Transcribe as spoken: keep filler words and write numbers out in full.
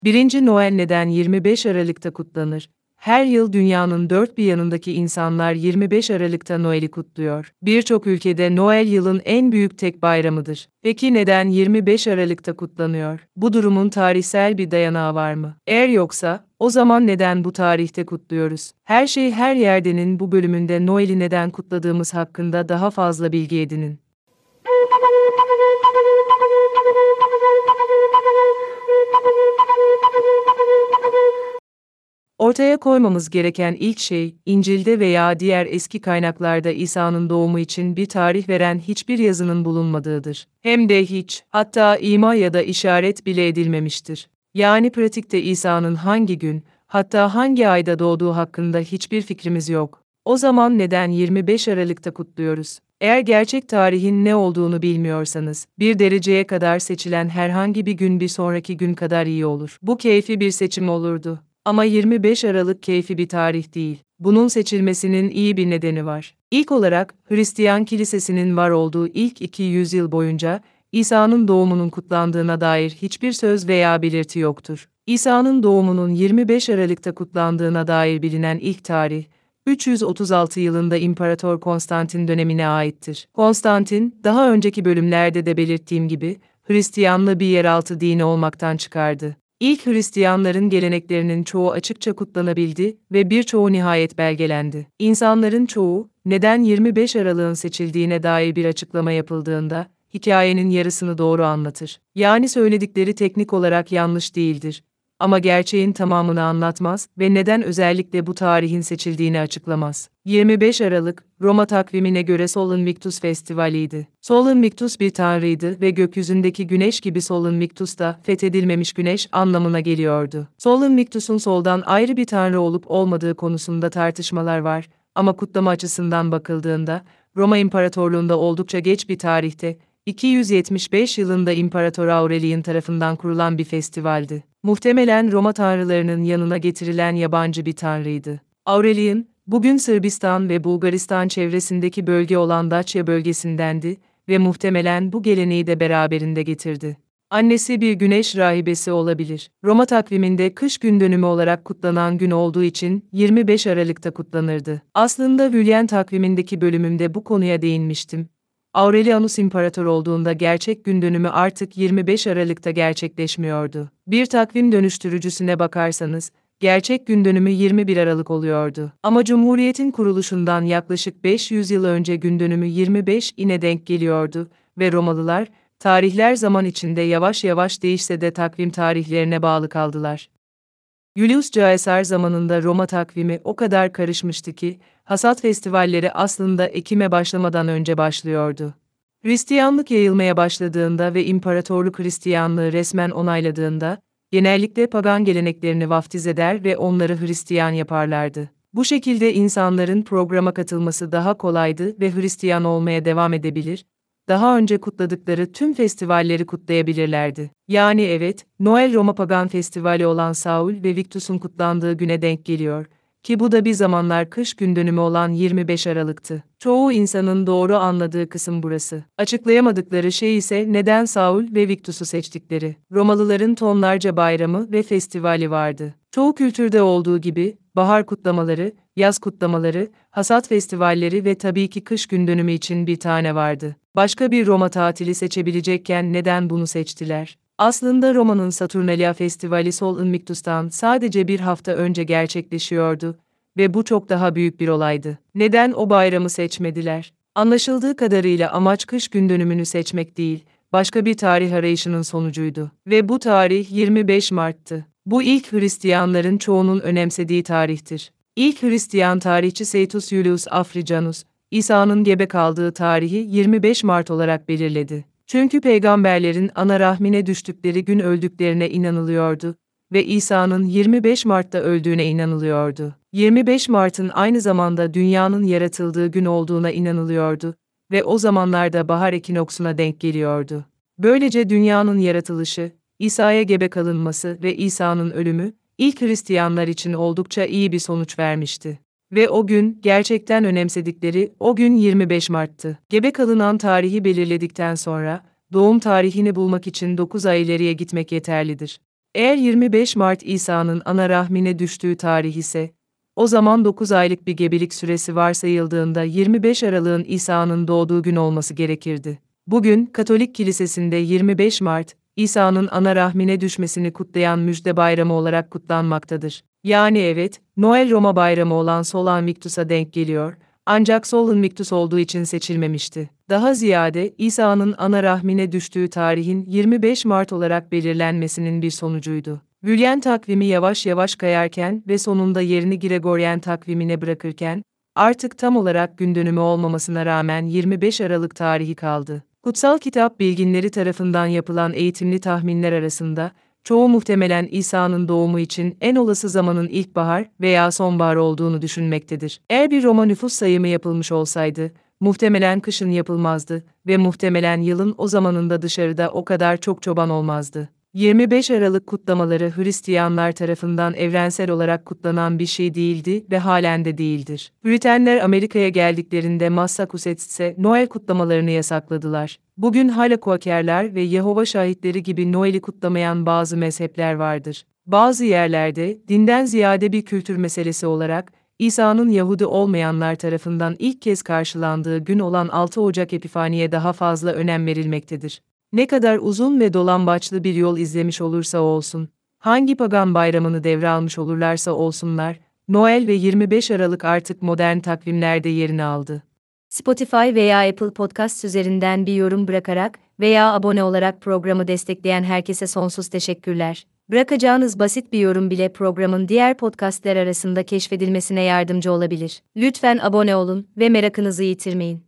Birinci Noel neden yirmi beş Aralık'ta kutlanır? Her yıl dünyanın dört bir yanındaki insanlar yirmi beş Aralık'ta Noel'i kutluyor. Birçok ülkede Noel yılın en büyük tek bayramıdır. Peki neden yirmi beş Aralık'ta kutlanıyor? Bu durumun tarihsel bir dayanağı var mı? Eğer yoksa, o zaman neden bu tarihte kutluyoruz? Her şey her yerdenin bu bölümünde Noel'i neden kutladığımız hakkında daha fazla bilgi edinin. Ortaya koymamız gereken ilk şey, İncil'de veya diğer eski kaynaklarda İsa'nın doğumu için bir tarih veren hiçbir yazının bulunmadığıdır. Hem de hiç, hatta ima ya da işaret bile edilmemiştir. Yani pratikte İsa'nın hangi gün, hatta hangi ayda doğduğu hakkında hiçbir fikrimiz yok. O zaman neden yirmi beş Aralık'ta kutluyoruz? Eğer gerçek tarihin ne olduğunu bilmiyorsanız, bir dereceye kadar seçilen herhangi bir gün bir sonraki gün kadar iyi olur. Bu keyfi bir seçim olurdu. Ama yirmi beş Aralık keyfi bir tarih değil. Bunun seçilmesinin iyi bir nedeni var. İlk olarak, Hristiyan kilisesinin var olduğu ilk iki yüzyıl boyunca, İsa'nın doğumunun kutlandığına dair hiçbir söz veya belirti yoktur. İsa'nın doğumunun yirmi beş Aralık'ta kutlandığına dair bilinen ilk tarih, üç yüz otuz altı yılında İmparator Konstantin dönemine aittir. Konstantin, daha önceki bölümlerde de belirttiğim gibi, Hristiyanlığı bir yeraltı dini olmaktan çıkardı. İlk Hristiyanların geleneklerinin çoğu açıkça kutlanabildi ve birçoğu nihayet belgelendi. İnsanların çoğu, neden yirmi beş Aralık'ın seçildiğine dair bir açıklama yapıldığında, hikayenin yarısını doğru anlatır. Yani söyledikleri teknik olarak yanlış değildir. Ama gerçeğin tamamını anlatmaz ve neden özellikle bu tarihin seçildiğini açıklamaz. yirmi beş Aralık, Roma takvimine göre Sol Invictus Festivali'ydi. Sol Invictus bir tanrıydı ve gökyüzündeki güneş gibi Sol Invictus da fethedilmemiş güneş anlamına geliyordu. Sol Invictus'un soldan ayrı bir tanrı olup olmadığı konusunda tartışmalar var ama kutlama açısından bakıldığında, Roma İmparatorluğu'nda oldukça geç bir tarihte, iki yüz yetmiş beş yılında İmparator Aurelian tarafından kurulan bir festivaldi. Muhtemelen Roma tanrılarının yanına getirilen yabancı bir tanrıydı. Aurelian, bugün Sırbistan ve Bulgaristan çevresindeki bölge olan Dacia bölgesindendi ve muhtemelen bu geleneği de beraberinde getirdi. Annesi bir güneş rahibesi olabilir. Roma takviminde kış gün dönümü olarak kutlanan gün olduğu için yirmi beş Aralık'ta kutlanırdı. Aslında Julian takvimindeki bölümümde bu konuya değinmiştim. Aurelianus imparator olduğunda gerçek gün dönümü artık yirmi beş Aralık'ta gerçekleşmiyordu. Bir takvim dönüştürücüsüne bakarsanız, gerçek gün dönümü yirmi bir Aralık oluyordu. Ama Cumhuriyet'in kuruluşundan yaklaşık beş yüz yıl önce gün dönümü yirmi beş ine denk geliyordu ve Romalılar, tarihler zaman içinde yavaş yavaş değişse de takvim tarihlerine bağlı kaldılar. Julius Caesar zamanında Roma takvimi o kadar karışmıştı ki, hasat festivalleri aslında Ekim'e başlamadan önce başlıyordu. Hristiyanlık yayılmaya başladığında ve İmparatorluk Hristiyanlığı resmen onayladığında, genellikle pagan geleneklerini vaftiz eder ve onları Hristiyan yaparlardı. Bu şekilde insanların programa katılması daha kolaydı ve Hristiyan olmaya devam edebilir, daha önce kutladıkları tüm festivalleri kutlayabilirlerdi. Yani evet, Noel Roma Pagan Festivali olan Saul ve Victus'un kutlandığı güne denk geliyor, ki bu da bir zamanlar kış gün dönümü olan yirmi beş Aralık'tı. Çoğu insanın doğru anladığı kısım burası. Açıklayamadıkları şey ise neden Saul ve Victus'u seçtikleri. Romalıların tonlarca bayramı ve festivali vardı. Çoğu kültürde olduğu gibi, bahar kutlamaları, yaz kutlamaları, hasat festivalleri ve tabii ki kış gün dönümü için bir tane vardı. Başka bir Roma tatili seçebilecekken neden bunu seçtiler? Aslında Roma'nın Saturnalia Festivali Sol Invictus'tan sadece bir hafta önce gerçekleşiyordu ve bu çok daha büyük bir olaydı. Neden o bayramı seçmediler? Anlaşıldığı kadarıyla amaç kış gün dönümünü seçmek değil, başka bir tarih arayışının sonucuydu. Ve bu tarih yirmi beş Mart'tı. Bu ilk Hristiyanların çoğunun önemsediği tarihtir. İlk Hristiyan tarihçi Seitus Julius Africanus, İsa'nın gebe kaldığı tarihi yirmi beş Mart olarak belirledi. Çünkü peygamberlerin ana rahmine düştükleri gün öldüklerine inanılıyordu ve İsa'nın yirmi beş Mart'ta öldüğüne inanılıyordu. yirmi beş Mart'ın aynı zamanda dünyanın yaratıldığı gün olduğuna inanılıyordu ve o zamanlarda bahar ekinoksuna denk geliyordu. Böylece dünyanın yaratılışı, İsa'ya gebe kalınması ve İsa'nın ölümü, ilk Hristiyanlar için oldukça iyi bir sonuç vermişti. Ve o gün, gerçekten önemsedikleri, o gün yirmi beş Mart'tı. Gebe kalınan tarihi belirledikten sonra, doğum tarihini bulmak için dokuz ay ileriye gitmek yeterlidir. Eğer yirmi beş Mart İsa'nın ana rahmine düştüğü tarih ise, o zaman dokuz aylık bir gebelik süresi varsayıldığında yirmi beş Aralık'ın İsa'nın doğduğu gün olması gerekirdi. Bugün, Katolik Kilisesi'nde yirmi beş Mart, İsa'nın ana rahmine düşmesini kutlayan müjde bayramı olarak kutlanmaktadır. Yani evet, Noel Roma bayramı olan Sol Invictus'a denk geliyor, ancak Sol Invictus olduğu için seçilmemişti. Daha ziyade, İsa'nın ana rahmine düştüğü tarihin yirmi beş Mart olarak belirlenmesinin bir sonucuydu. Julian takvimi yavaş yavaş kayarken ve sonunda yerini Gregorian takvimine bırakırken, artık tam olarak gün dönümü olmamasına rağmen yirmi beş Aralık tarihi kaldı. Kutsal kitap bilginleri tarafından yapılan eğitimli tahminler arasında, çoğu muhtemelen İsa'nın doğumu için en olası zamanın ilkbahar veya sonbahar olduğunu düşünmektedir. Eğer bir Roma nüfus sayımı yapılmış olsaydı, muhtemelen kışın yapılmazdı ve muhtemelen yılın o zamanında dışarıda o kadar çok çoban olmazdı. yirmi beş Aralık kutlamaları Hristiyanlar tarafından evrensel olarak kutlanan bir şey değildi ve halen de değildir. Britenler Amerika'ya geldiklerinde Massachusetts'e Noel kutlamalarını yasakladılar. Bugün hala Quakerler ve Yehova şahitleri gibi Noel'i kutlamayan bazı mezhepler vardır. Bazı yerlerde, dinden ziyade bir kültür meselesi olarak, İsa'nın Yahudi olmayanlar tarafından ilk kez karşılandığı gün olan altı Ocak Epifani'ye daha fazla önem verilmektedir. Ne kadar uzun ve dolambaçlı bir yol izlemiş olursa olsun, hangi pagan bayramını devralmış olurlarsa olsunlar, Noel ve yirmi beş Aralık artık modern takvimlerde yerini aldı. Spotify veya Apple Podcast üzerinden bir yorum bırakarak veya abone olarak programı destekleyen herkese sonsuz teşekkürler. Bırakacağınız basit bir yorum bile programın diğer podcastler arasında keşfedilmesine yardımcı olabilir. Lütfen abone olun ve merakınızı yitirmeyin.